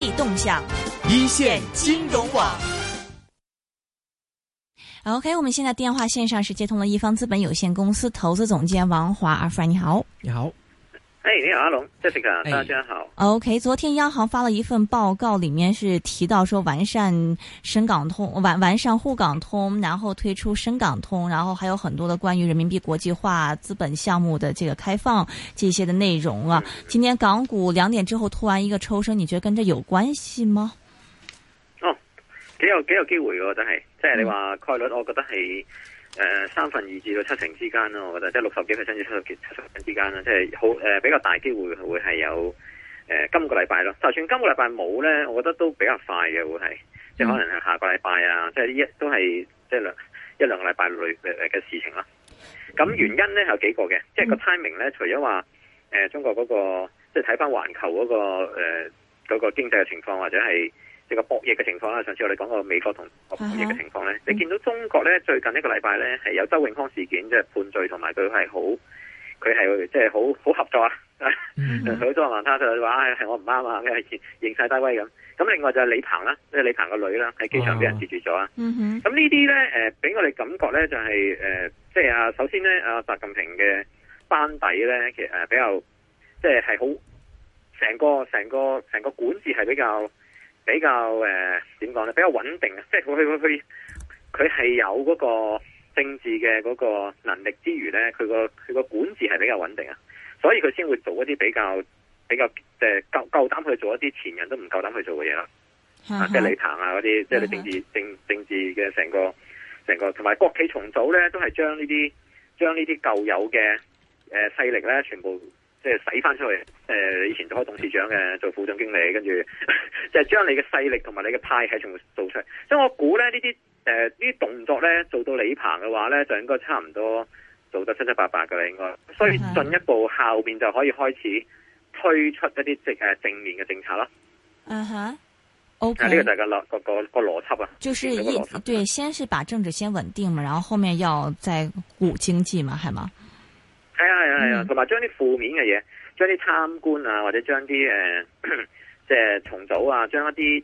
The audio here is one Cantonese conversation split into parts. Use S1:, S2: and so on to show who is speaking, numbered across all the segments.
S1: 际動向，
S2: 一線金融網。
S1: OK， 我們現在電話線上是接通了一方資本有限公司投資總監王華。阿 Frank 你好。
S2: 你好。
S3: 你好，阿龍，Jessica，大家好。
S1: OK， 昨天央行發了一份報告，裡面是提到說完善深港通、完善滬港通，然後推出深港通，然後還有很多的關於人民幣國際化資本項目的這個開放這些的內容啊。今天港股2點之後突然一個抽升，你覺得跟這有關係嗎？
S3: 幾有機會嘅，真係，即係你話概率，我覺得係2/3至到7成之間咯。我覺得即係60幾%至70%之間啦，即係好比較大機會會係有今個禮拜咯。就算今個禮拜冇咧，我覺得都比較快嘅會係，即係可能係下個禮拜啊，即係都係即係一兩個禮拜內嘅事情啦。咁原因咧有幾個嘅，即係個 timing 咧，除咗話中國嗰個即係睇翻環球嗰個經濟嘅情況或者係。即係個博弈嘅情況啦，上次我哋講過美國同博弈嘅情況咧，你見到中國咧最近一個禮拜咧係有周永康事件，即係判罪，同埋佢係即係好合作啊，佢都話他就話係我唔啱啊，認晒低威咁。咁另外就係李鵬啦，即係李鵬個女啦，喺機場俾人截住咗啊。咁呢啲咧俾我哋感覺咧就係即係首先咧習近平嘅班底咧其實比較即係好成個管治係比較點講咧？比較穩定啊！即係佢係有嗰個政治嘅嗰個能力之餘咧，佢個管治係比較穩定啊！所以佢先會做一啲比較即係夠膽去做一啲前人都唔夠膽去做嘅嘢啦。即係李鵬啊嗰啲，即係你政治嘅成個同埋國企重組咧，都係將呢啲舊有嘅勢力咧，全部。即係使翻出去，以前做開董事長嘅，做副總經理，跟住即係將你嘅勢力同埋你嘅派系全部做出嚟。所以我估咧呢啲動作咧做到李鵬嘅話咧，就應該差唔多做得七七八八㗎啦，應該。所以進一步後邊就可以開始推出一啲正面嘅政策啦。
S1: OK，
S3: 呢個就係個邏輯啊。
S1: 就是對，先是把政治先穩定嘛，然後後面要再鼓經濟嘛，係嘛？
S3: 係啊，同埋將啲負面嘅嘢，將啲貪官啊，或者將啲即係重組啊，將一啲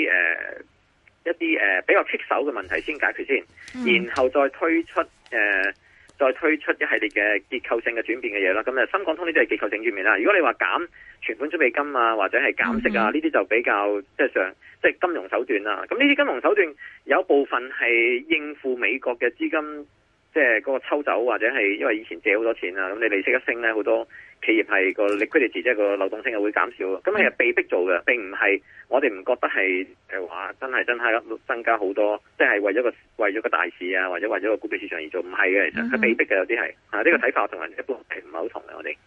S3: 比較棘手嘅問題先解決先，然後再推出一系列嘅結構性嘅轉變嘅嘢啦。咁深港通呢啲係結構性轉變啦。如果你話減存款準備金啊，或者係減息啊，呢啲就比較即係金融手段啦。咁呢啲金融手段有部分係應付美國嘅資金。即係嗰個抽走，或者係因為以前借好多錢啊，咁你利息一升咧，好多企業係個 liquidity 即係個流動性係會減少。咁係被逼做嘅，並唔係我哋唔覺得係話真係增加好多，即係為咗個大市啊，或者為咗個股票市場而做，唔係嘅，其實係被逼嘅，有啲係呢個睇法同人一般係唔係好同嘅，我哋。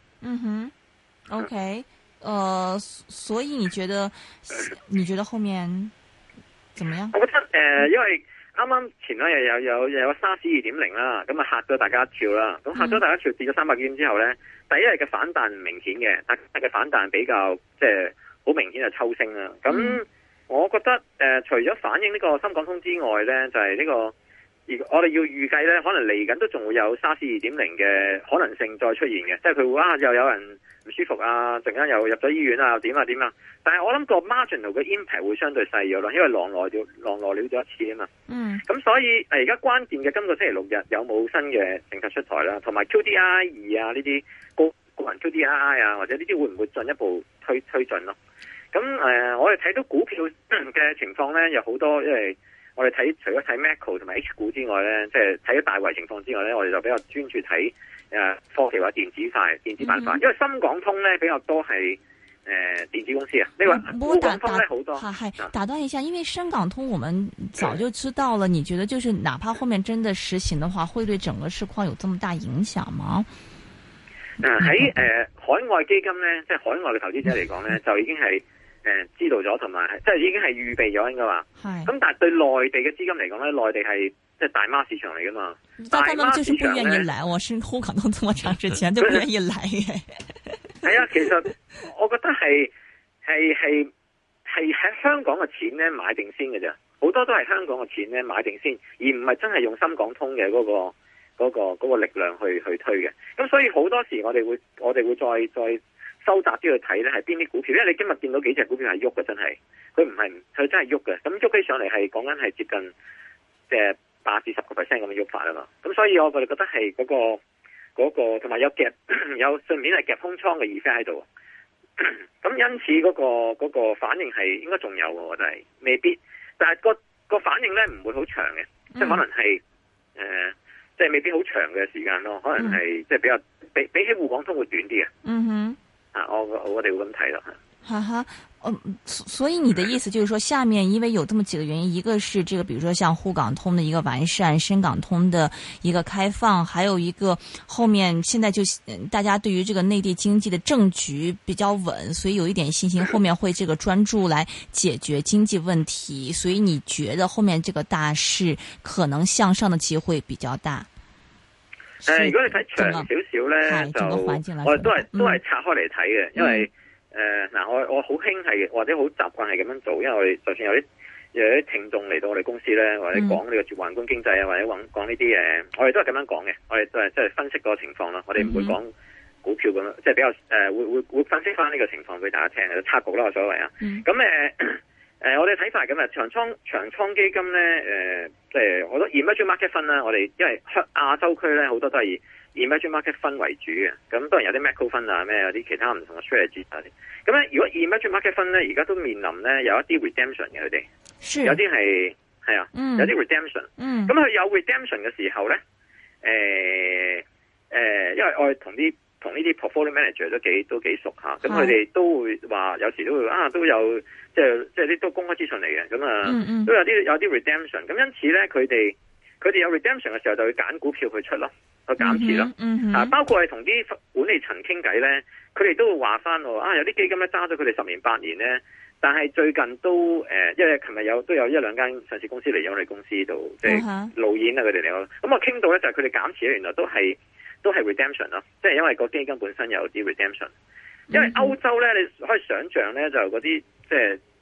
S1: OK，所以你覺得後面怎麼樣？
S3: 我覺得因為。啱啱前兩日有沙士 2.0 啦，咁啊嚇咗大家一跳啦，咁嚇咗大家一跳跌咗300幾點之後咧，第一日嘅反彈唔明顯嘅，但係嘅反彈比較即係好明顯係抽升啦。咁我覺得除咗反映呢個深港通之外咧，就係呢個我哋要預計咧，可能嚟緊都仲會有沙士 2.0 嘅可能性再出現嘅，即係佢會又有人唔舒服啊，陣間又入咗醫院啊，點啊，但係我諗個 marginal 嘅 impact 會相對細咗咯，因為狼來了咗一次啊嘛。咁所以而家關鍵嘅今個星期六日有冇新嘅政策出台啦，同埋 QDII 啊呢啲個人 QDII 啊，或者呢啲會唔會進一步推進咯？咁我哋睇到股票嘅情況咧，有好多，因為我哋除咗睇 Macro 同埋 H 股之外咧，即係睇咗大圍情況之外咧，我哋就比較專注睇科技或者電子板塊，因為深港通咧比較多係電子公司啊。你話滬港通咧好多。
S1: 打斷一下，因為深港通我們早就知道了，你覺得就是哪怕後面真的實行的話，會對整個市況有這麼大影響嗎？
S3: 喺海外基金咧，即係海外嘅投資者嚟講咧，就已經係知道咗，同埋即係已經係預備咗應該話。咁但係對內地嘅資金嚟講咧，內地係即係大媽市場嚟噶嘛。
S1: 但他們就是不願意來，我是滬港通這麼長時間都不願意來嘅。
S3: 係啊，其實我覺得係喺香港嘅錢咧買定先嘅啫，好多都係香港嘅錢咧買定先，而唔係真係用深港通嘅嗰個力量去推嘅。咁所以好多時我哋會再收窄啲去睇咧，係邊啲股票？因為你今日見到幾隻股票係喐嘅，真係佢唔係佢真係喐嘅。咁喐起上嚟係講緊係接近即係8至10%咁嘅喐法啊嘛。咁所以我哋覺得係嗰個同埋有夾有順便係夾空倉嘅 effect 喺度。咁因此嗰個反應係應該仲有，我覺得係未必，但係個反應咧唔會好長嘅，即係可能係即係未必好長嘅時間咯，可能係即係比較比起滬港通會短啲嘅。
S1: 嗯哼，
S3: 我哋會咁睇咯。
S1: 哈哈，所以你的意思就是說，下面因為有這麼幾個原因，一個是這個，比如說像滬港通的一個完善，深港通的一個開放，還有一個後面現在就大家對於這個內地經濟的政局比較穩，所以有一點信心，後面會這個專注來解決經濟問題，所以你覺得後面這個大勢可能向上的機會比較大？
S3: 如果你睇長少少咧，就我哋都係拆開嚟睇嘅，因為我好興係或者好習慣係咁樣做，因為我哋就算有啲聽眾嚟到我哋公司咧，或者講呢個宏觀經濟啊，或者講呢啲嘢，我哋都係咁樣講嘅，我哋都係即係分析個情況啦，我哋唔會講股票咁樣，即係比較會分析翻呢個情況俾大家聽嘅，拆局啦，我所謂啊。咁我哋睇法係咁啊，長倉基金咧，即係好多 emerging market fund 啦，我哋因為亞洲區咧好多都係以 emerging market fund 為主嘅，咁當然有啲 macro fund 啊，咩有啲其他唔同嘅 strategy 啊啲。咁咧，如果 emerging market fund 咧，而家都面臨咧有一啲 redemption 嘅佢哋，有啲係啊，有啲 redemption。咁佢有 redemption 嘅時候咧，因為我哋同呢啲 portfolio manager 都幾熟嚇，咁佢哋都會話有時都會都有即係啲都公開資訊嚟嘅，咁都有啲 redemption，咁因此咧佢哋有 redemption 嘅時候就會揀股票去出咯，去減持咯，包括係同啲管理層傾偈咧，佢哋都會話翻有啲基金咧揸咗佢哋10年8年咧，但係最近都因為琴日都有一兩間上市公司嚟咗我哋公司度即係路演啊佢哋嚟咯，咁我傾到咧就係佢哋減持咧原來都係 redemption 咯，即係因為個基金本身有啲 redemption。因為歐洲咧，你可以想象咧，就嗰啲即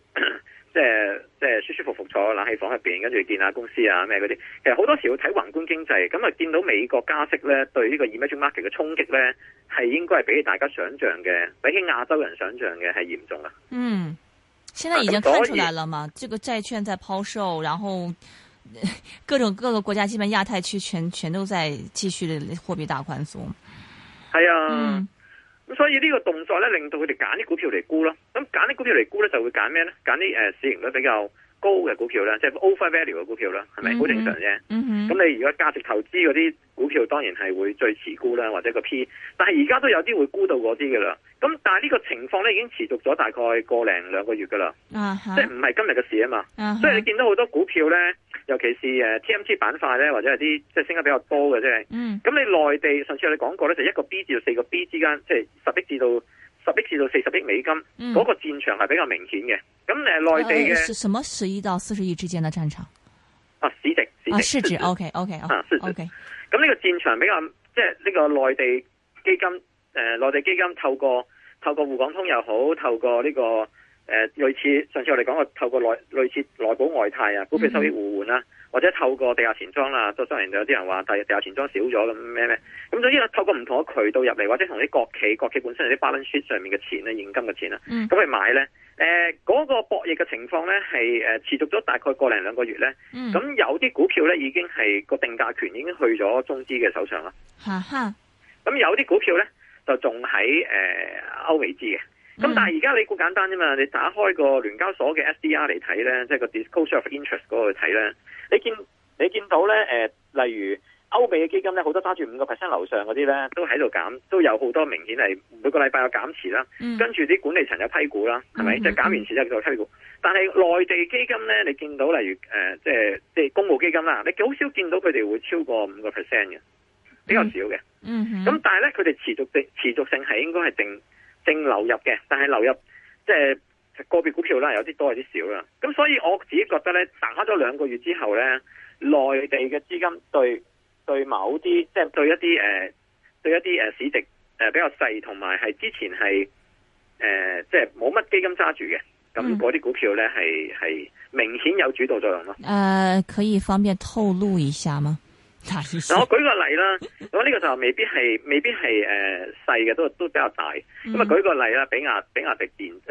S3: 係舒舒服服坐喺冷氣房入邊，跟住見下公司啊咩嗰啲。其實好多時會睇宏觀經濟，咁啊見到美國加息咧，對呢個 emerging market 嘅衝擊咧，係應該係比大家想象嘅，比起亞洲人想象嘅係嚴重啊。
S1: 現在已經看出來了嘛？這個債券在拋售，然後各個國家，基本亞太區全都在繼續的貨幣大寬鬆。
S3: 係啊。咁所以呢個動作咧，令到佢哋揀啲股票嚟沽咯。咁揀啲股票嚟沽咧，就會揀咩咧？揀啲市盈率比較高嘅股票啦，即係 over value 嘅股票啦，係咪好正常啫？咁你如果價值投資嗰啲股票，當然係會最遲沽啦，或者個 P。但係而家都有啲會沽到嗰啲噶啦。咁但係呢個情況咧，已經持續咗大概1個零2個月噶啦。即係唔係今日嘅事啊嘛。所以你見到好多股票咧，尤其是TMT 板塊咧，或者係啲即係升得比較多嘅啫。咁你內地上次我哋講過咧，就1個 B 至到4個 B 之間，即係10億至到40億美金，嗰個戰場係比較明顯嘅。咁內地嘅
S1: 什麼10億到40億之間嘅戰場？市值 OK。
S3: 咁呢個戰場比較即係呢個內地基金透過滬港通又好，透過呢個類似上次我哋講過透過類似內保外貸啊，股票收益互換啦，或者透過地下錢莊啦，當然有啲人話地下錢莊少咗咁咩，咁總之透過唔同嘅渠道入嚟，或者同啲國企本身有啲 balance sheet 上面嘅錢咧，現金嘅錢啦，咁去買咧，嗰個博弈嘅情況咧係持續咗大概1個零2個月咧，咁有啲股票咧已經係個定價權已經去咗中資嘅手上啦，咁有啲股票咧就仲喺歐美資嘅。咁但係而家你估簡單啫嘛，你打開個聯交所嘅 SDR 嚟睇咧，即係個 disclosure of interest 嗰個去睇咧，你見到咧例如歐美嘅基金咧，好多揸住5% 樓上嗰啲咧，都喺度減，都有好多明顯係每個禮拜有減持啦，跟住啲管理層有批股啦，係咪？即係減完持之後就批股。但係內地基金咧，你見到例如即係公募基金啦，你好少見到佢哋會超過5%嘅，比較少嘅。咁但係咧，佢哋持續性係應該係正流入嘅，但係流入即係個別股票啦，有啲多有啲少啦。咁所以我自己覺得咧，打咗2個月之後咧，內地嘅資金對某啲即係對一啲市值比較細，同埋係之前係即係冇乜基金揸住嘅，咁嗰啲股票咧係明顯有主導作用咯。
S1: 可以方便透露一下嗎？
S3: 嗱，我舉個例啦，咁呢個就未必係細嘅，都比較大。咁啊，舉個例啦，比亞迪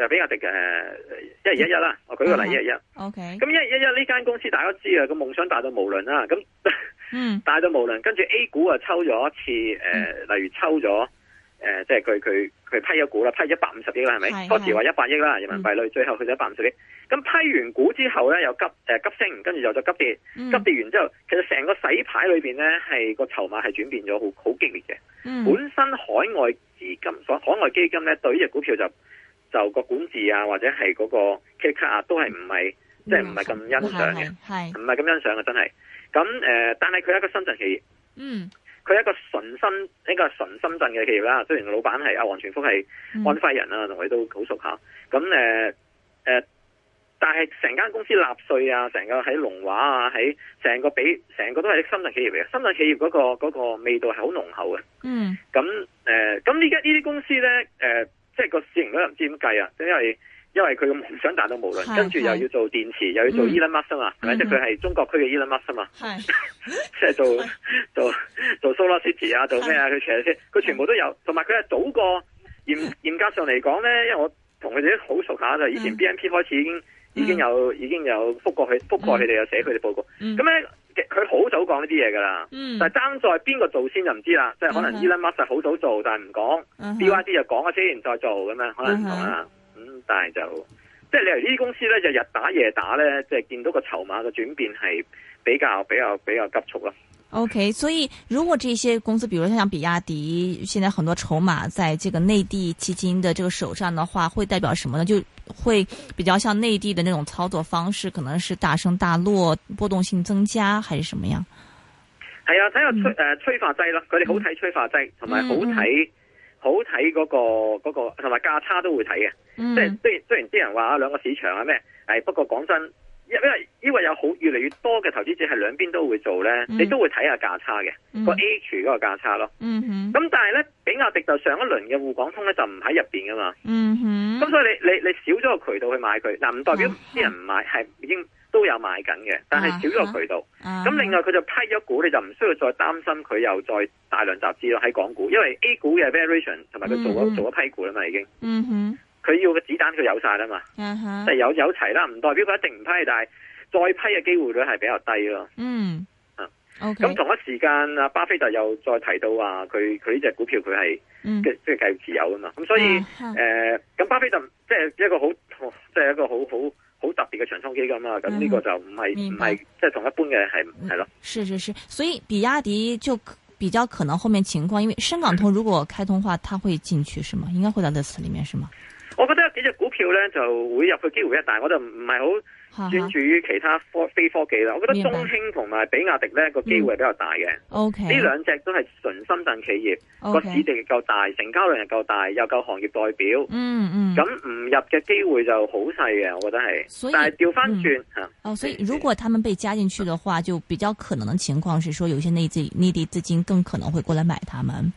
S3: 1211啦，我舉個例1211。
S1: OK。咁
S3: 1211呢間公司大家都知啊，個夢想大到無倫啦，咁大到無倫，跟住 A 股啊抽咗一次，例如抽咗即係佢批咗股啦，批150億啦，係咪？當時話100億啦，人民幣率，最後去咗150億。咁批完股之後咧，又急升，跟住又再急跌，急跌完之後，其實成個洗牌裏邊咧，係個籌碼係轉變咗好激烈嘅。本身海外基金咧，對呢隻股票就個管治啊，或者係嗰個 K 卡啊，都係唔係即係唔係咁欣賞嘅，唔係咁欣賞嘅，真係。咁但係佢係一個深圳企業，佢係一個純深圳嘅企業啦。雖然老闆係阿黃全福係安徽人啊，同佢都好熟下。咁但係成間公司納稅啊，成個喺龍華啊，喺成個都係深圳企業嚟嘅。深圳企業嗰個味道係好濃厚嘅。咁呢家呢啲公司咧，即係個市盈率又唔知點計啊，因為佢嘅夢想大到無倫，跟住又要做電池，又要做 Elon Musk 啊嘛，係咪？即係佢係中國區嘅 Elon Musk 啊嘛，即係做 Solar City 啊，做咩啊？佢全部都有，同埋佢係早過嚴格上嚟講咧，因為我同佢哋都好熟下，就以前 BNP 開始已經有覆過佢哋，有寫佢哋報告。咁咧佢好早講呢啲嘢噶啦，但係爭在邊個做先就唔知啦。即係可能 Elon Musk 好早做，但係唔講，BYD 就講咗先，再做咁樣，可能唔同啦。但係就即係你嚟呢啲公司咧，就日打夜打咧，即係見到個籌碼嘅轉變係比較急促咯。
S1: OK， 所以如果這些公司，比如像比亞迪，現在很多籌碼在這個內地基金的這個手上的話，會代表什麼呢？就會比較像內地的那種操作方式，可能是大升大落，波動性增加，還是什麼樣？
S3: 係啊，睇下催化劑咯，佢哋好睇催化劑，同埋好睇嗰個，同埋價差都會睇嘅。即係雖然啲人話兩個市場啊咩，不過講真。因為有越嚟越多嘅投資者係兩邊都會做咧，你都會睇下價差嘅個 H 嗰個價差咯。咁但係咧，比亞迪就上一輪嘅滬港通咧就唔喺入邊噶嘛。咁所以你少咗個渠道去買佢，嗱唔代表啲人唔買，係已經都有買緊嘅，但係少咗個渠道。咁另外佢就批咗股，你就唔需要再擔心佢又再大量集資咯喺港股，因為 A 股嘅 variation 同埋佢做咗批股啦嘛已經。佢要嘅子彈佢有晒啦嘛，即係有齊啦，唔代表佢一定唔批，但係再批嘅機會率係比較低咯。咁同一時間阿巴菲特又再提到話佢呢隻股票佢係即係繼續持有啊嘛。咁所以咁巴菲特即係一個好特別嘅長倉基金啦。咁呢個就唔係即係同一般嘅係咯。
S1: 是，所以比亞迪就比較可能後面情況，因為深港通如果開通話，它會進去是嗎？應該會在這次裏面是嗎？
S3: 我覺得有幾隻股票咧就會入去機會一大，我就唔係好專注於其他非科技啦。我覺得中興同埋比亞迪咧個機會係比較大嘅。呢兩隻都係純深圳企業，個市值亦夠大，成交量又夠大，又夠行業代表。咁唔入嘅機會就好細嘅，我覺得係。但係調翻轉吓。
S1: 所以如果他們被加進去的話，就比較可能的情況是說，有些內地資金更可能會過來買他們。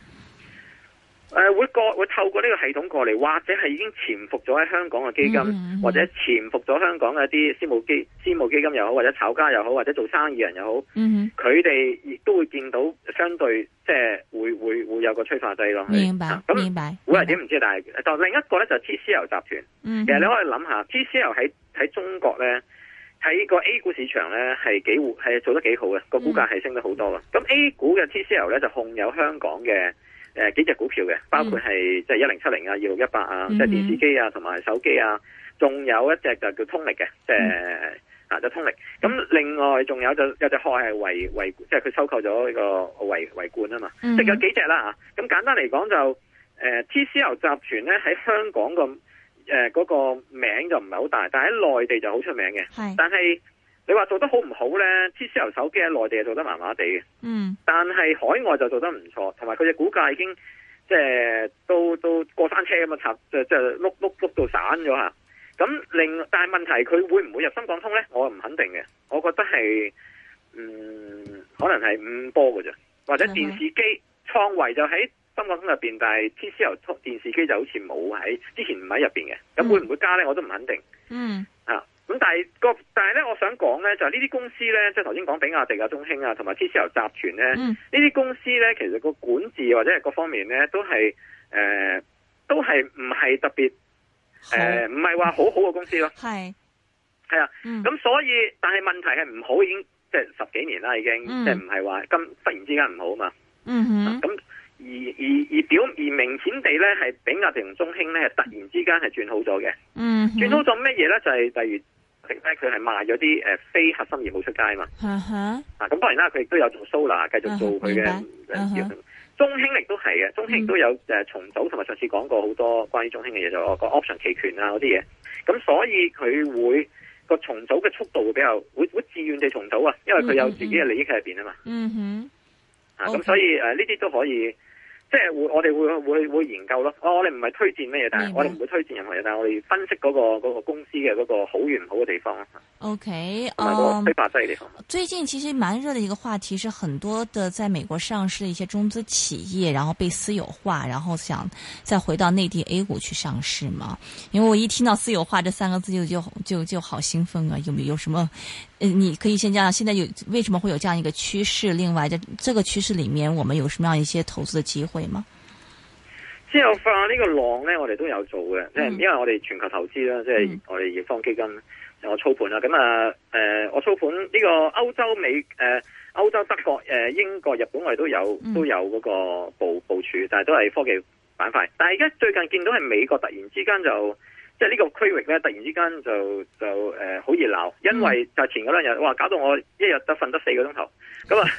S3: 會透過呢個系統過嚟，或者係已經潛伏咗喺香港嘅基金，或者潛伏咗香港嘅一啲私募基金又好，或者炒家又好，或者做生意人又好，佢哋亦都會見到相對即係會有個催化劑咯。
S1: 明白，明白。
S3: 會係點唔知，但係就另一個咧就 TCL 集團。其實你可以諗下 TCL 喺中國咧，喺個 A 股市場咧係做得幾好嘅，個股價係升得好多嘅。咁 A 股嘅 TCL 咧就控有香港嘅幾隻股票嘅，包括係即係1070啊、2618啊，即係電視機啊同埋手機啊，仲有一隻就叫通力嘅，即係就通力。咁另外仲有隻殼係維，即係佢收購咗呢個維冠啊嘛，即係有幾隻啦嚇。咁簡單嚟講就TCL 集團咧喺香港嗰個名就唔係好大，但係喺內地就好出名嘅。但係你話做得好唔好咧 ？TCL 手機喺內地做得麻麻地嘅，但係海外就做得唔錯，同埋佢隻股價已經即係都過山車咁啊，即係碌到散咗吓。咁但係問題佢會唔會入深港通咧？我唔肯定嘅，我覺得係可能係5波嘅啫，或者電視機創維就喺深港通入邊，但係 TCL 電視機就好似冇喺之前唔喺入邊嘅，咁會唔會加咧？我都唔肯定。咁但係咧，我想講講咧，就係呢啲公司咧，即係頭先講比亞迪啊、中興啊，同埋 TCL 集團咧，呢啲公司咧，其實個管治或者係各方面咧，都係唔係特別唔係話好好嘅公司咯。係啊，咁所以但係問題係唔好已經即係10幾年啦，已經即係唔係話忽然之間唔好嘛。咁而明顯地咧，係比亞迪同中興咧，突然之間係轉好咗嘅。轉好咗咩嘢咧？就係例如。佢係賣咗啲非核心業務出街嘛，咁當然啦，佢亦都有做 solar， 繼續做佢嘅。中興亦都係嘅，中興亦都有重組，同埋上次講過好多關於中興嘅嘢，就個 option 期權啊嗰啲嘢。咁所以佢會個重組嘅速度會比較會自願地重組啊，因為佢有自己嘅利益喺入邊啊嘛。咁所以呢啲都可以。即係我哋會研究咯。我哋唔係推薦咩嘢，但係我哋唔會推薦任何嘢，但係我哋分析嗰個公司嘅嗰個好與唔好嘅地方。
S1: OK，
S3: 推發劑嘅地方。
S1: 最近其實蠻熱的一個話題是，很多的在美國上市的一些中資企業，然後被私有化，然後想再回到內地 A 股去上市嘛。因為我一聽到私有化這3個字就好興奮啊！有什麼？你可以先講現在為什麼會有這樣一個趨勢？另外，這個趨勢裏面，我們有什麼樣一些投資的機會嗎？
S3: 私有化呢個浪呢，我哋都有做嘅，即係因為我哋全球投資啦，即係我哋易方基金，我操盤啦。咁我操盤呢個歐洲、歐洲、德國、英國、日本，我哋都有嗰個部署，但係都係科技板塊。但係而家最近見到係美國突然之間就。即係呢個區域咧，突然之間就好熱鬧，因為就前嗰2日，哇，搞到我一日得瞓得4個鐘頭，咁啊，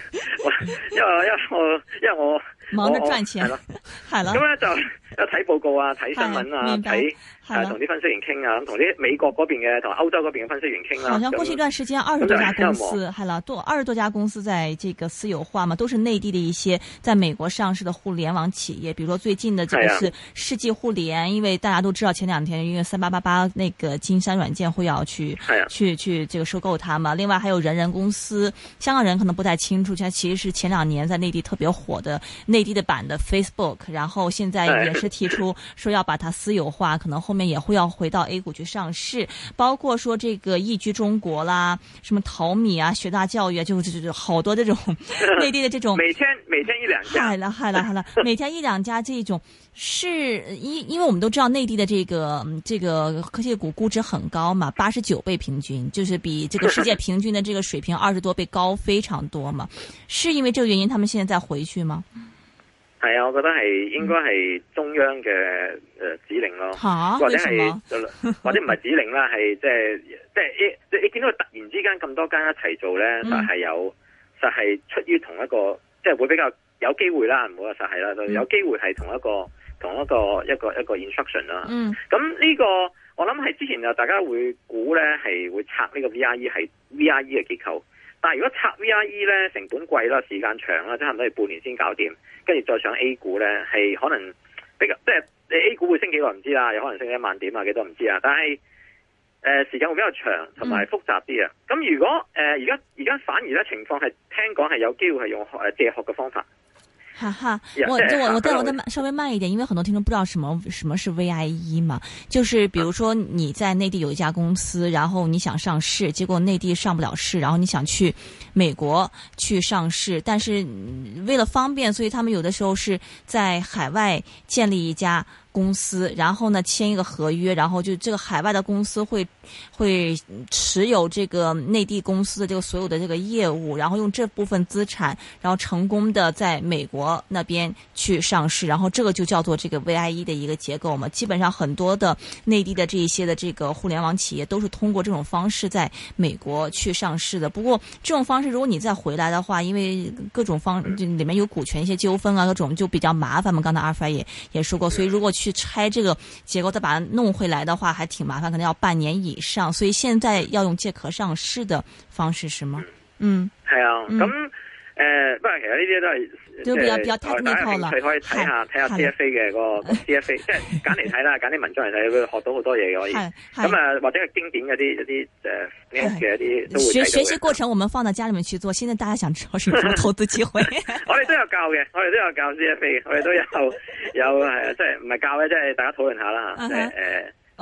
S3: 因為我
S1: 忙着賺錢，係啦，
S3: 咁咧就睇報告啊，睇新聞啊，睇同啲分析員傾啊，咁同啲美國嗰邊嘅同歐洲嗰邊嘅分析員傾啦。好
S1: 像過去一段時間20多家公司，係啦，20多家公司在這個私有化嘛，都是內地的一些在美國上市的互聯網企業，比如說最近的這個是世紀互聯，因為大家都知道前2天因為3888那個金山軟件會要去這個收購它嘛。另外還有人公司，香港人可能不太清楚，它其實是前2年在內地特別火的內地的版的 Facebook， 然後現在也是提出說要把它私有化，可能後面也會要回到 A 股去上市，包括說這個易居中國啦，什麼淘米啊、學大教育啊，就好多這種內地的這種
S3: 每天1-2家，
S1: 係啦，每天1-2家這種是因為我們都知道內地的這個科技股估值很高嘛，89倍平均，就是比這個世界平均的這個水平20多倍高非常多嘛，是因為這個原因他們現在再回去嗎？
S3: 係啊，我覺得係應該係中央嘅指令咯，或者唔係指令啦，係即係你見到佢突然之間咁多間一齊做咧，實係出於同一個，即係會比較有機會啦，唔好話實係啦，有機會係同一個 instruction 啦。咁呢個我諗係之前大家會估咧係會拆呢個 VIE 係 VIE 嘅結構。但係如果拆 VIE 咧，成本貴啦，時間長啦，即係差唔多要半年先搞掂，跟住再上 A 股咧，係可能比較即係你 A 股會升幾耐唔知啦，有可能升1萬點啊，幾多唔知啊。但係時間會比較長，同埋複雜啲啊。咁如果而家反而咧情況係聽講係有機會係用借殼嘅方法。
S1: 哈哈，我再稍微慢一點，因為很多聽眾不知道什麼是 VIE 嘛，就是比如說你在內地有一家公司，然後你想上市，結果內地上不了市，然後你想去美國去上市，但是為了方便，所以他們有的時候是在海外建立一家公司，然後呢簽一個合約，然後就這個海外的公司會持有這個內地公司的這個所有的這個業務，然後用這部分資產，然後成功的在美國那邊去上市，然後這個就叫做這個 VIE 的一個結構嘛。基本上很多的內地的這一些的這個互聯網企業都是通過這種方式在美國去上市的。不過這種方式如果你再回來的話，因為各種裏面有股權一些糾紛啊，各種就比較麻煩嘛。剛才阿爾法也說過，所以如果去拆這個結構再把它弄回來的話還挺麻煩，可能要半年以上，所以現在要用借殼上市的方式是嗎？
S3: 係啊，咁不過其實呢啲都係
S1: 就比較 technical 啦，
S3: 可以睇下 CFA 嘅個 CFA， 即係揀嚟睇啦，揀啲文章嚟睇，會學到好多嘢嘅可以。咁或者係經典嗰啲嘅一啲都會睇到嘅。
S1: 學習過程我們放到家裏面去做，現在大家想知道是什麼投資機會？
S3: 我哋都有教嘅，我哋都有教 CFA， 我哋都有即係唔係教嘅，即係大家討論下啦嚇。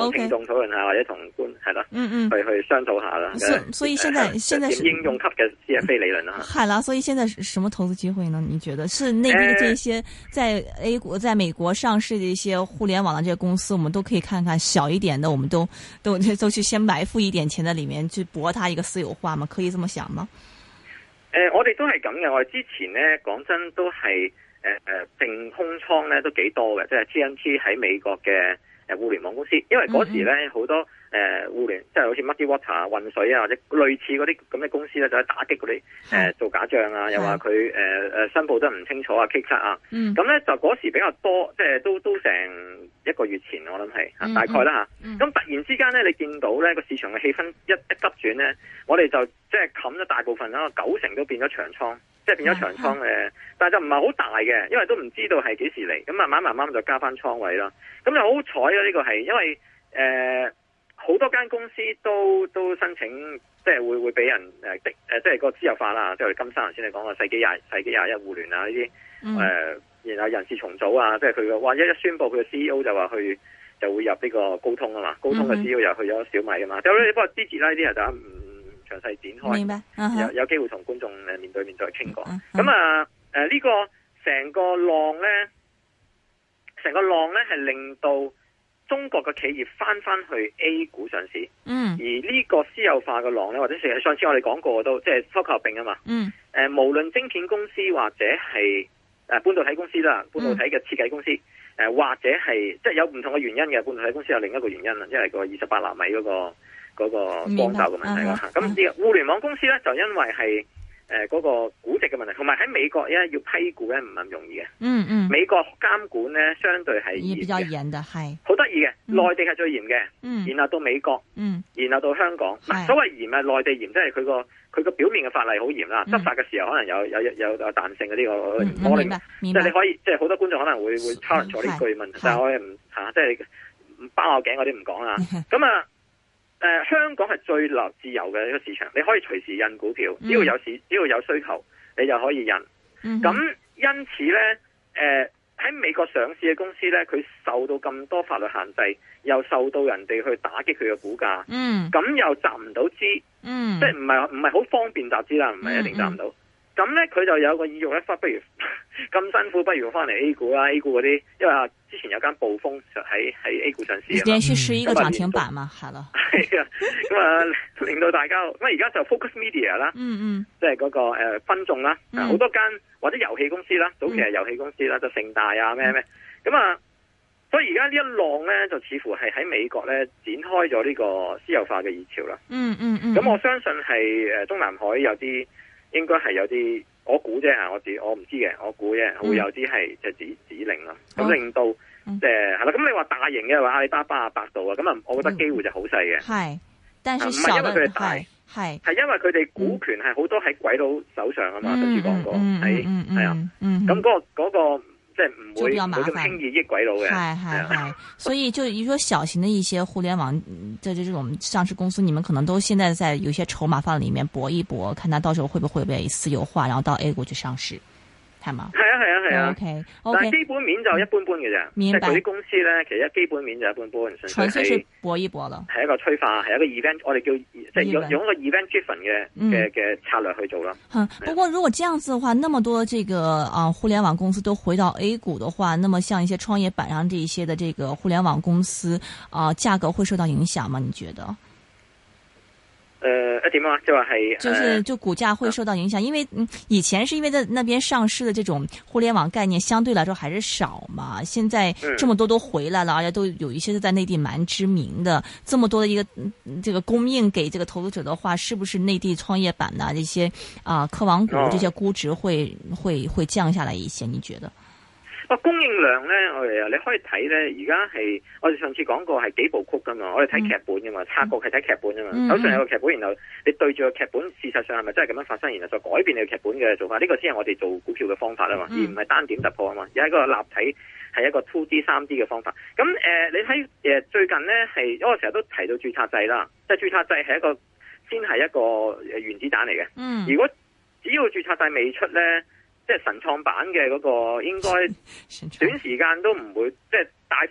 S3: 同聽眾討論下，或者同官係啦，去商討下啦。
S1: 所以現在是
S3: 應用級嘅 CFA 理論啦。
S1: 係啦，所以現在什麼投資機會呢？你覺得是內地的這些在 A 股、在美國上市的一些互聯網的這些公司，我們都可以看看小一點的，我們都去先埋伏一點錢在裏面去搏它一個私有化嘛？可以這麼想嗎？
S3: 我哋都係咁嘅。我哋之前咧講真都係淨空倉咧都幾多嘅，即係 TNT 喺美國嘅互聯網公司，因為嗰時咧好多互聯即係好似 Muddy Water 啊、渾水啊或者類似嗰啲咁嘅公司咧，就係打擊嗰啲做假賬啊，又話佢申報得唔清楚啊、K 卡啊，咁咧就嗰時比較多，即係都成1個月前我諗係大概啦嚇。咁突然之間咧，你見到咧個市場嘅氣氛一急轉咧，我哋就即係冚咗大部分啦，90%都變咗長倉。即係變咗長倉但係就唔係好大嘅，因為都唔知道係幾時嚟，咁慢慢就加翻倉位啦。咁就好彩啦，呢個係因為好多間公司都申請，即係會俾人即係個私有化啦，即係金山頭先你講個世紀21互聯啊呢啲然後人事重組啊，即係佢話一宣佈佢嘅 CEO 就話就會入呢個高通啊嘛，高通嘅 CEO 又去咗小米啊嘛，不過之前呢啲就詳細展開，
S1: 明白
S3: 有機會同觀眾面對面再傾過。咁呢個成個浪咧係令到中國嘅企業翻去 A 股上市。而呢個私有化嘅浪咧，或者上次我哋講過都即係科合併啊嘛。無論晶片公司或者係半導體公司啦，半導體嘅設計公司，或者係即係有唔同嘅原因嘅。半導體公司有另一個原因啦，因為個28納米嗰個光罩嘅問題啦。咁呢個互聯網公司咧就因為係嗰個估值嘅問題，同埋喺美國咧要批股咧唔係咁容易嘅。美國監管咧相對係
S1: 比較嚴嘅，係好
S3: 得意嘅。內地係最嚴嘅，然後到美國，然後到香港。所謂嚴係內地嚴，即係佢個表面嘅法例好嚴啦，執法嘅時候可能有彈性嘅呢個。我明白，即係你可以，即係好多觀眾可能會 challenge 咗呢句問題，但係我哋唔即係唔包我頸嗰啲唔講啦。咁香港係最自由嘅一個市場，你可以隨時印股票，只要有需求，你就可以印。咁因此咧，喺美國上市嘅公司咧，佢受到咁多法律限制，又受到人哋去打擊佢嘅股價，咁又集唔到資，即係唔係好方便集資啦，唔係一定集唔到。咁咧佢就有個意欲咧，不如咁辛苦，不如翻嚟 A 股啦。A 股嗰啲，因為之前有間暴風就喺 A 股上市啊嘛，連
S1: 續11個漲停板嘛，係咯。
S3: 係啊，咁令到大家，咁而家就 Focus Media 啦，即係嗰個分眾啦，好多間或者遊戲公司啦，早期係遊戲公司啦，就盛大啊咩，咁所以而家呢一浪咧，就似乎係喺美國咧展開咗呢個私有化嘅熱潮啦。咁我相信係中南海有啲。應該係有啲，我估啫，我唔知嘅，我估啫，會有啲係即係指令啦，咁令到即係係啦。咁你話大型嘅話，阿里巴巴啊、百度啊，咁我覺得機會就好細嘅。係，但係唔係因為佢哋大，係因為佢哋股權係好多喺鬼佬手上啊嘛，上次講過，係啊，咁嗰個。即係唔會咁輕易益鬼佬嘅，
S1: 係，所以就你說小型的一些互聯網的這種上市公司，你們可能都現在在有些籌碼放在裏面搏一搏，看它到時候會不會被私有化，然後到 A 股去上市，係嘛？係
S3: 啊。
S1: OK，
S3: 但係基本面就一般般嘅啫。明白。即係嗰啲公司咧，其實基本面就一般般，純粹係
S1: 搏一搏咯。係
S3: 一個催化，係一個 event，我哋叫即係用一個 event driven 嘅策略去做啦。
S1: 不過如果這樣子的話，那麼多這個互聯網公司都回到 A 股的話，那麼像一些創業板上這一些的這個互聯網公司價格會受到影響嗎？你覺得？
S3: 點啊？就話係
S1: 就股價會受到影響，因為以前是因為在那邊上市的這種互聯網概念相對來說還是少嘛，現在這麼多都回來了，而且都有一些是在內地蠻知名的，這麼多的一個這個供應給這個投資者的話，是不是內地創業板啊這些科網股這些估值會降下來一些？你覺得？
S3: 供應量咧，你可以睇咧，而家係我哋上次講過係幾部曲噶嘛，我哋睇劇本噶嘛，策局係睇劇本噶嘛，手上有個劇本，然後你對住個劇本，事實上係咪真係咁樣發生，然後再改變你嘅劇本嘅做法，呢個先係我哋做股票嘅方法啊嘛，而唔係單點突破啊嘛，而係一個立體係一個 2D、3D 嘅方法。咁你睇最近咧係，因為我成日都提到註冊制啦，即係註冊制係先係一個原子彈嚟嘅。如果只要註冊制未出咧，即係神創版嘅嗰個，應該短時間都唔會即係大幅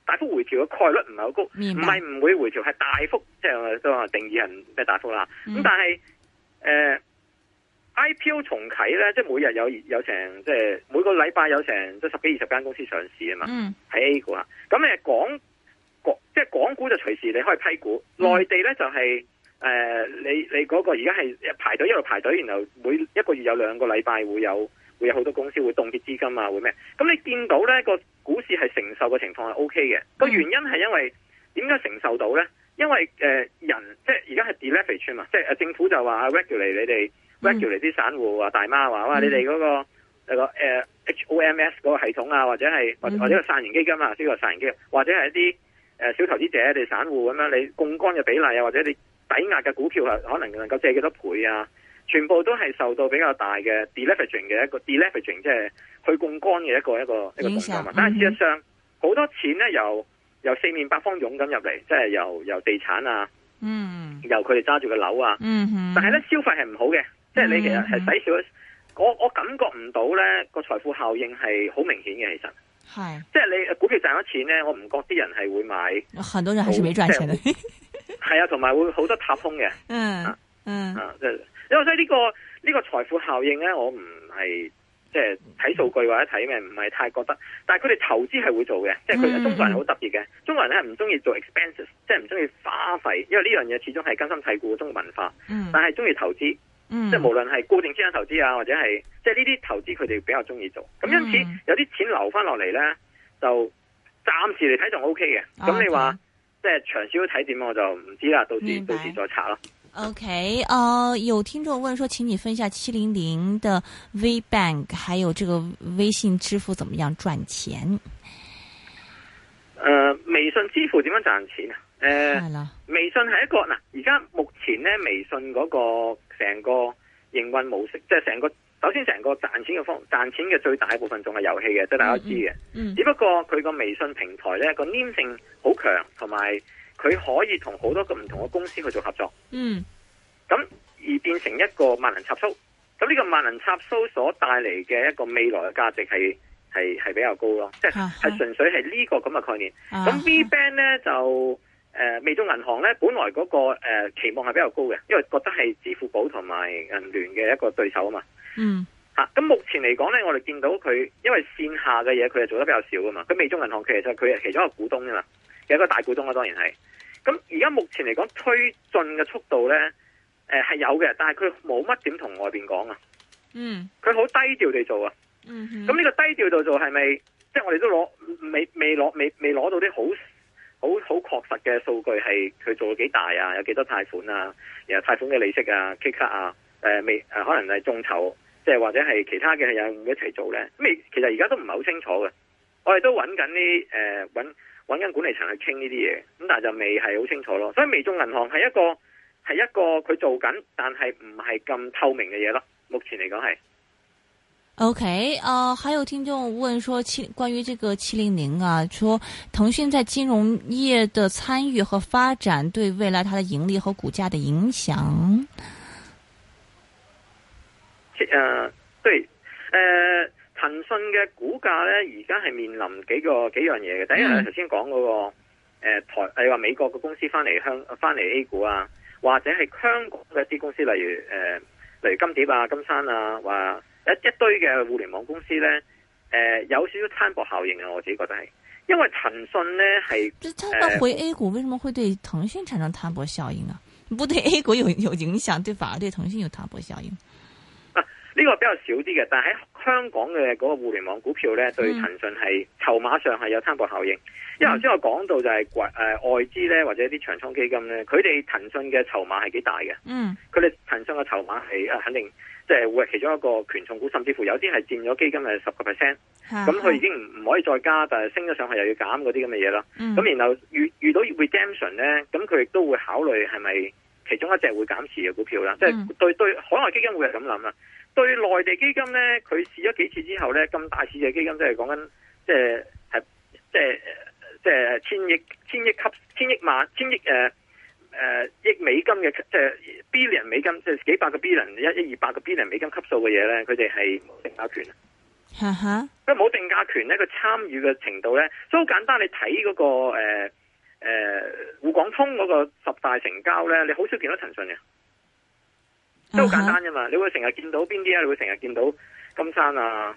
S3: 大幅回調嘅概率唔係好高，唔係唔會回調，係大幅，即係我都話定義係咩大幅啦。咁但係IPO 重啟咧，即係每日有成，即係每個禮拜有成即係10幾20間公司上市啊嘛。喺 A 股啊，咁即係港股就隨時你可以批股，內地咧就係你嗰個而家係排隊一路排隊，然後每一個月有2個禮拜會有好多公司會凍結資金啊，會咩？咁你見到咧個股市係承受嘅情況係 OK 嘅，個原因係因為點解承受到咧？因為人即係而家係 deleverage 嘛，即係政府就話 regulate 你哋 regulate 啲散戶啊大媽話哇你哋嗰個HOMS 嗰個系統啊，或者係或者個散型基金啊，呢個散型基金，或者係一啲小投資者你散戶咁樣，你槓桿嘅比例啊，或者你抵押嘅股票係可能夠借幾多倍啊？全部都係受到比較大嘅 deleveraging 嘅一個 deleveraging， 即係去槓桿嘅一個動作嘛。但係事實上好多錢咧由四面八方湧咁入嚟，即係由地產啊，由佢哋揸住嘅樓啊，但係咧消費係唔好嘅，即係你其實係使少，我感覺唔到咧個財富效應係好明顯嘅，其實係即係你股票賺咗錢咧，我唔覺啲人係會買，
S1: 很多人還是沒賺錢嘅，
S3: 係啊，同埋會好多踏空嘅，即係。因為所以呢個財富效應咧，我唔係即係睇數據或者睇咩，唔係太覺得。但係佢哋投資係會做嘅，即係佢中國人好特別嘅。中國人咧係唔中意做 expenses， 即係唔中意花費，因為呢樣嘢始終係根深蒂固嘅中國文化。但係中意投資，即係無論係固定資產投資啊，或者係即係呢啲投資，佢哋比較中意做。咁因此有啲錢流翻落嚟咧，就暫時嚟睇仲 OK 嘅。咁你話即係長少少睇點，我就唔知啦。到時再查咯。
S1: OK，有聽眾問說，請你分享700的 WeBank， 還有這個微信支付怎麼樣賺錢？
S3: 微信支付點樣賺錢啊？微信係一個嗱，而家目前咧，微信嗰個成個營運模式，即係首先成個賺錢嘅最大部分仲係遊戲嘅，即係大家知嘅。只不過佢個微信平台咧個黏性好強，同埋佢可以同好多個唔同嘅公司去做合作，咁而變成一個萬能插蘇。咁呢個萬能插蘇所帶嚟嘅一個未來嘅價值係比較高咯，即係純粹係呢個咁嘅概念。咁 WeBank 咧就微眾銀行咧本來嗰個期望係比較高嘅，因為覺得係支付寶同埋銀聯嘅一個對手啊嘛。咁目前嚟講咧，我哋見到佢因為線下嘅嘢佢係做得比較少啊嘛。咁微眾銀行其實佢係其中一個股東啊嘛，有一個大股東啊，當然係。咁而家目前嚟講推進嘅速度咧，係有嘅，但係佢冇乜點同外邊講啊。佢好低調地做啊。咁呢個低調度做係咪，即係我哋都未攞到啲好確實嘅數據係佢做咗幾大啊？有幾多貸款啊？然後貸款嘅利息啊、K 卡啊，可能係眾籌，即係或者係其他嘅係有冇一齊做咧？其實而家都唔係好清楚嘅。我哋都揾緊啲揾緊管理層去傾呢啲嘢，咁但係就未係好清楚咯。所以微眾銀行係一個佢做緊，但係唔係咁透明嘅嘢咯。目前嚟講係。
S1: OK，還有聽眾問說，關於這個700啊，說騰訊在金融業的參與和發展對未來它的盈利和股價的影響。
S3: 對，騰訊嘅股價咧，而家係面臨幾樣嘢嘅。第一係頭先講嗰個你話美國嘅公司翻嚟 A 股啊，或者係香港嘅一啲公司，例如金蝶啊、金山啊，話一堆嘅互聯網公司咧，有少少攤薄效應啊。我自己覺得係，因為騰訊咧係，
S1: 它回 A 股為什麼會對騰訊產生攤薄效應啊？不對 A 股有影響，對反而對騰訊有攤薄效應。
S3: 呢個比較少啲嘅，但係喺香港嘅嗰個互聯網股票咧，對騰訊係籌碼上係有攤薄效應。因為頭先我講到就係外資咧，或者啲長倉基金咧，佢哋騰訊嘅籌碼係幾大嘅。佢哋騰訊嘅籌碼係肯定即係會係其中一個權重股，甚至乎有啲係佔咗基金係10%。咁佢已經唔可以再加，但係升咗上去又要減嗰啲咁嘅嘢啦。咁然後遇到 redemption 咧，咁佢亦都會考慮係咪其中一隻會減持嘅股票啦。即係對海外基金會係咁諗啦。對內地基金咧，佢試咗幾次之後咧，咁大市嘅基金即係講緊，即係千億美金嘅，即係 billion 美金，即係幾百個 billion、100-200個 billion 美金級數嘅嘢咧，佢哋係冇成交權。
S1: 哈哈，
S3: 因為冇定價權咧，佢參與嘅程度咧，所以好簡單。你睇嗰個滬港通嗰個10大成交咧，你好少見到騰訊嘅，即係好簡單啫嘛。你會成日見到邊啲啊？你會成日見到金山啊，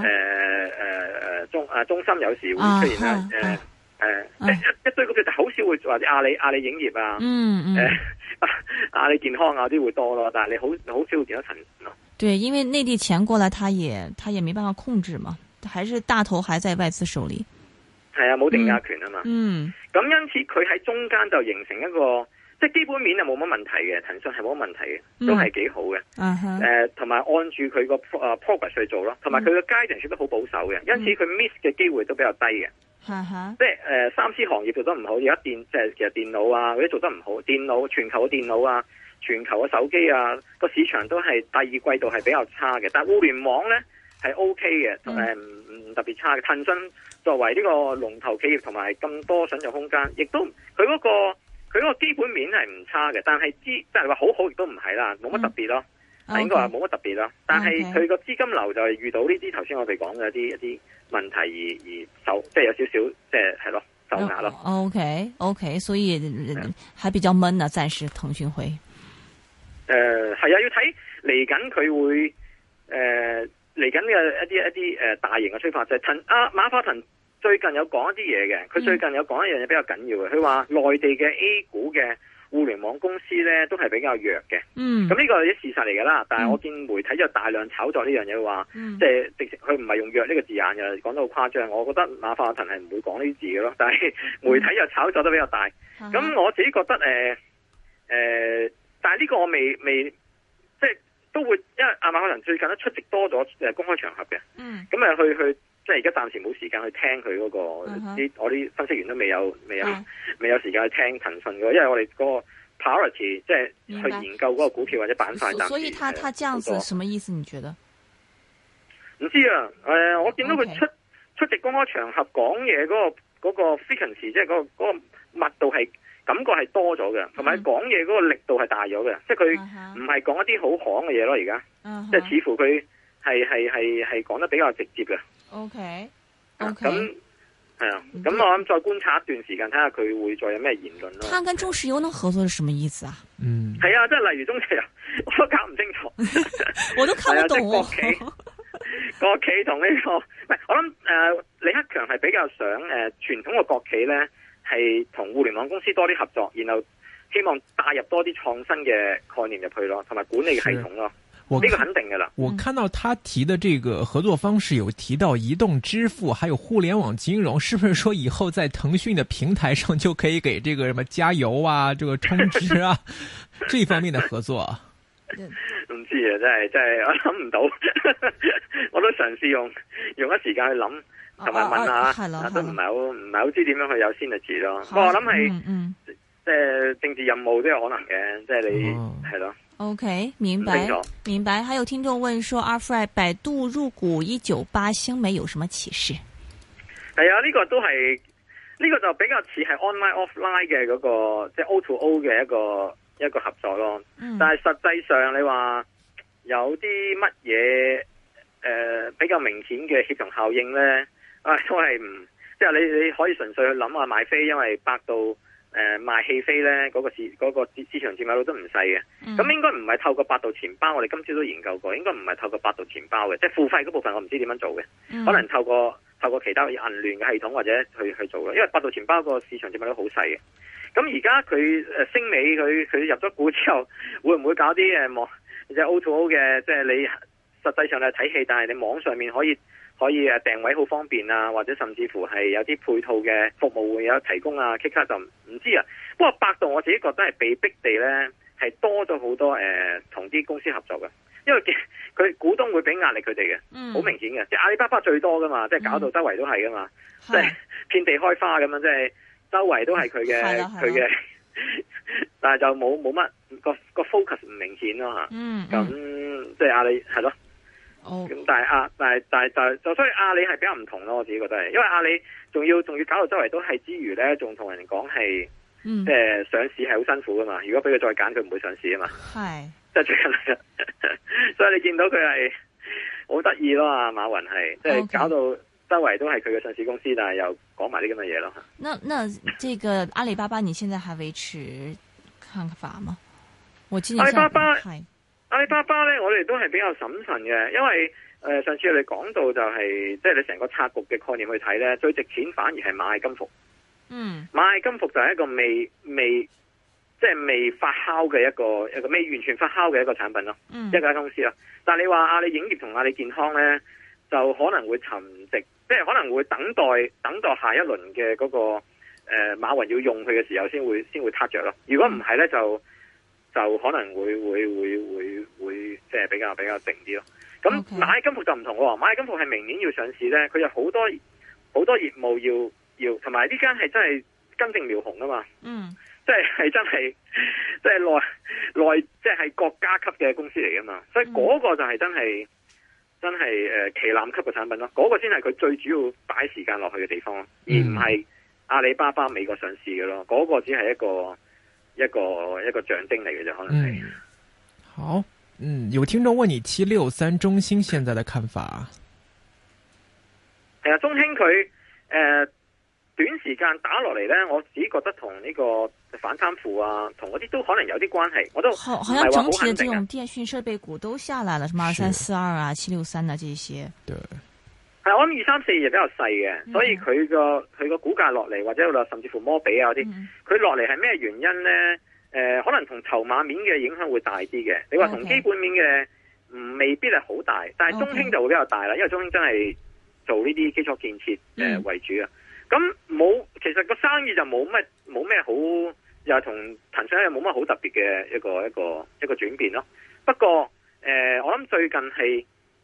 S3: 中芯有時會出現啦，一堆股票就好少會或者阿里影業啊，阿里健康啊啲會多咯，但係你好少會見到騰訊咯。
S1: 對，因為內地錢過來，他也沒辦法控制嘛，還是大頭還在外資手裏。
S3: 係啊，冇定價權啊嘛。咁因此佢喺中間就形成一個，即係基本面係冇乜問題嘅，騰訊係冇乜問題嘅，都係幾好嘅。同埋按住佢個progress 去做咯，同埋佢個 guidance 都好保守嘅，因此佢 miss 嘅機會都比較低嘅。即係3C 行業做得唔好，而家其實電腦啊嗰啲做得唔好，全球嘅電腦啊。全球嘅手機啊，個市場都係第二季度係比較差嘅，但係互聯網咧係 OK 嘅，唔特別差嘅。騰訊作為呢個龍頭企業同埋咁多想象空間，亦都佢嗰個基本面係唔差嘅，但係即係話好亦都唔係啦，冇乜特別咯，應該話冇乜特別咯。但係佢個資金流就係遇到呢啲頭先我哋講嘅一啲問題而受，即係有少少即係咯受壓咯。
S1: OK， 所以還比較悶啊，暫時騰訊會。
S3: 係啊，要睇嚟緊佢會嚟緊嘅一啲大型嘅催化劑。馬化騰最近有講一啲嘢嘅，佢最近有講一樣嘢比較緊要嘅，佢話內地嘅 A 股嘅互聯網公司咧都係比較弱嘅。咁呢個係啲事實嚟噶啦，但係我見媒體就大量炒作呢樣嘢，話即係直情佢唔係用弱呢個字眼嘅，講得好誇張。我覺得馬化騰係唔會講呢啲字嘅咯，但係媒體就炒作得比較大。咁我自己覺得但係呢個我未即係都會，因為馬化騰最近都出席多咗公開場合嘅，咁去即係而家暫時冇時間去聽佢嗰個我啲分析員都未有時間去聽騰訊嘅，因為我哋嗰個 priority 即係去研究嗰個股票或者板塊。
S1: 所以他這樣子什麼意思？你覺得？
S3: 唔知啊，我見到佢出席公開場合講嘢嗰個 frequency， 即係嗰個密度係。感覺係多咗嘅，同埋講嘢嗰個力度係大咗嘅，即係佢唔係講一啲好行嘅嘢咯，而家即係似乎佢係講得比較直接嘅。OK， 咁係啊，咁我諗再觀察一段時間，睇下佢會再有咩言論咯。
S1: 他跟中石油能合作係什麼意思啊？
S3: 係啊，即係例如中石油，我都搞唔清楚，
S1: 我都看不懂。
S3: 國企同呢個，唔係我諗李克強係比較想傳統嘅國企咧。係同互聯網公司多啲合作，然後希望帶入多啲創新嘅概念入去咯，同埋管理嘅系統咯。呢個肯定噶啦。我
S2: 看到他提的這個合作方式有提到移動支付，還有互聯網金融，是不是說以後在騰訊的平台上就可以給這個什麼加油啊、這個充值啊這方面的合作啊？
S3: 唔知啊，真係我諗唔到，我都嘗試用一時間去諗。同埋問下，都唔係好知點樣去有synergy咯。不過我諗係，即係政治任務都有可能嘅，即係你係咯。
S1: OK， 明白。還有聽眾問說，阿 Fred 百度入股198星美有什麼啟示？
S3: 係啊，呢個都係呢個就比較似係 online offline 嘅嗰個，即係 O to O 嘅一個合作咯。但係實際上你話有啲乜嘢比較明顯嘅協同效應咧？都係唔，即係你可以純粹去諗下買飛，因為百度賣戲飛咧嗰個市場佔有率都唔細嘅。咁應該唔係透過百度錢包，我哋今朝都研究過，應該唔係透過百度錢包嘅，即係付費嗰部分我唔知點樣做嘅，可能透過其他銀聯嘅系統或者去做嘅，因為百度錢包個市場佔有率好細嘅。咁而家佢星美佢入咗股之後，會唔會搞啲即係 O to O 嘅，即係你實際上你係睇戲，但係你網上面可以訂位好方便啊，或者甚至乎係有啲配套嘅服務會有提供啊。其他就唔知啊。不過百度我自己覺得係被逼地咧，係多咗好多同啲公司合作嘅，因為佢股東會俾壓力佢哋嘅，好明顯嘅。即係阿里巴巴最多噶嘛，即係搞到周圍都係噶嘛，即係遍地開花咁樣，即係周圍都係佢嘅，但係就冇乜個 focus 唔明顯咯吓。咁即係阿里係咯。咁但係所以阿里係比較唔同咯，我自己覺得係，因為阿里仲要搞到周圍都係之餘咧，仲同人講係，即係上市係好辛苦噶嘛。如果俾佢再揀，佢唔會上市啊嘛。係，即係最近，所以你見到佢係好得意咯啊！馬雲係即係搞到周圍都係佢嘅上市公司，但係又講埋啲咁嘅嘢咯。
S1: 那這個阿里巴巴，你現在還維持看法嗎？
S3: 阿里巴巴咧，我哋都係比較審慎嘅，因為上次我哋講到就係即係你成個策局嘅概念去睇咧，最值錢反而係螞蟻金服。螞蟻金服就係一個未發酵嘅一個未完全發酵嘅一個產品咯，一間公司咯。但係你話阿里影業同阿里健康咧，就可能會沉寂，即係可能會等待下一輪嘅嗰個馬雲要用佢嘅時候先會撻着咯。如果唔係咧，就可能會即係比較靜啲咯。咁螞蟻金服就唔同喎，螞蟻金服係明年要上市咧，佢有好多業務要，同埋呢間係真係根正苗紅啊嘛。即係真係，即係內即係國家級嘅公司嚟噶嘛，所以嗰個就係真係旗艦級嘅產品咯，嗰個先係佢最主要擺時間落去嘅地方，而唔係阿里巴巴美國上市嘅咯，嗰個只係一個象徵嚟嘅啫，可能係。
S2: 好，有聽眾問你763中興現在的看法。
S3: 係啊，中興佢短時間打落嚟咧，我只覺得同呢個反貪腐啊，同嗰啲都可能有啲關係。我都
S1: 好像整體的這種電訊設備股都下來了，什麼2342啊、763啊這些。對，
S3: 係我諗2342就比較細嘅，所以佢個股價落嚟，或者甚至乎摩比啊嗰啲，佢落嚟係咩原因咧？可能同籌碼面嘅影響會大啲嘅。你話同基本面嘅未必係好大，但係中興就會比較大啦，因為中興真係做呢啲基礎建設為主啊。咁其實個生意就冇咩好，又同騰訊又冇乜好特別嘅一個轉變咯。不過我諗最近係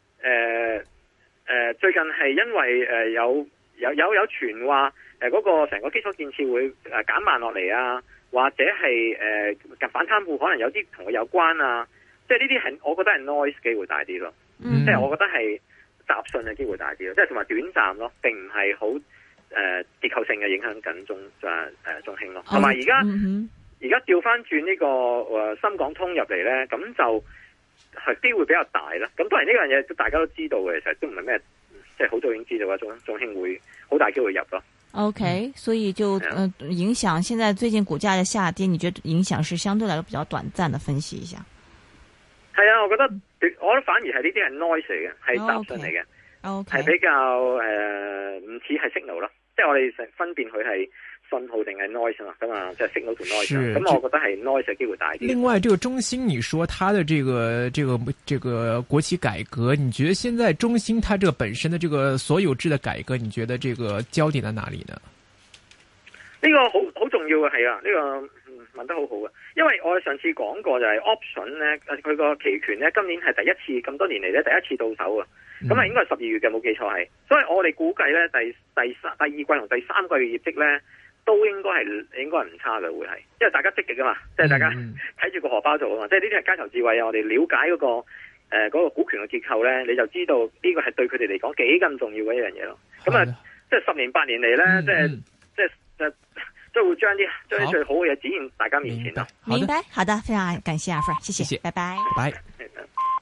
S3: 因為有傳話嗰個成個基礎建設會減慢落嚟啊，或者係反貪腐可能有啲同佢有關啊，即係呢啲係我覺得係 noise 機會大啲咯，即係我覺得係雜訊嘅機會大啲咯，即係同埋短暫咯，並唔係好結構性嘅影響緊中興咯，同埋而家調翻轉呢個深港通入嚟咧，咁就係機會比較大啦。咁當然呢樣嘢大家都知道嘅，其實都唔係咩，即係好早已經知道話中興會好大機會入咯。OK，
S1: 所以就影響現在最近股價嘅下跌，你覺得影響是相對來說比較短暫的？分析一下。
S3: 係啊，我覺得反而係呢啲係 noise 嚟嘅，係雜訊嚟嘅，係比較唔似係 signal 咯。即係我哋分辨佢係信號定係 noise 嘛，咁啊，即係 signal 同 noise。咁我覺得係 noise 嘅機會大啲。另外，這個中興，你說它的這個國企改革，你覺得現在中興它這個本身的這個所有制的改革，你覺得這個焦點在哪裡呢？呢個好重要嘅係啊，呢個問得好好嘅，因為我哋上次講過就係 option 咧，佢個期權咧今年係第一次咁多年嚟咧第一次到手啊。咁啊，應該係12月嘅，冇記錯係，所以我哋估計咧第二季同第三季嘅業績咧都應該係唔差嘅，會係，因為大家積極啊嘛，即係大家睇住個荷包做啊嘛，即係呢啲係街頭智慧啊，我哋了解嗰個股權嘅結構咧，你就知道呢個係對佢哋嚟講幾咁重要嘅一樣嘢咯。咁啊，即係10年8年嚟咧，即係會將最好嘅嘢展現大家面前咯。明白，好的，非常感謝阿 Frank，謝謝，拜拜。拜拜。